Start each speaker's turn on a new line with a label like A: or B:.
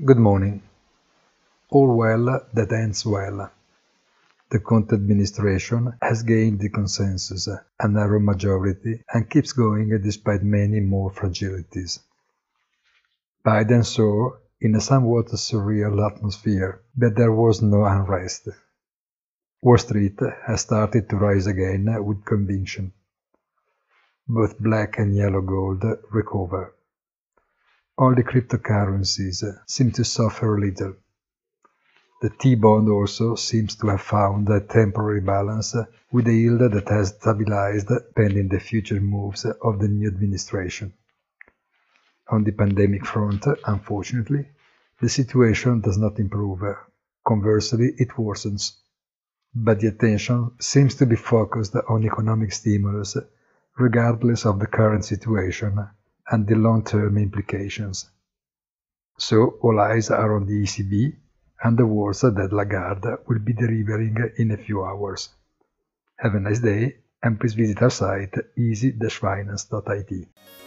A: Good morning. All well that ends well. The Conte administration has gained the consensus, a narrow majority, and keeps going despite many more fragilities. Biden saw, in a somewhat surreal atmosphere, that there was no unrest. Wall Street has started to rise again with conviction. Both black and yellow gold recover. Only cryptocurrencies seem to suffer a little. The T-bond also seems to have found a temporary balance with a yield that has stabilized pending the future moves of the new administration. On the pandemic front, unfortunately, the situation does not improve. Conversely, it worsens. But the attention seems to be focused on economic stimulus, regardless of the current situation and the long-term implications. So all eyes are on the ECB and the words that Lagarde will be delivering in a few hours. Have a nice day, and please visit our site easy-finance.it.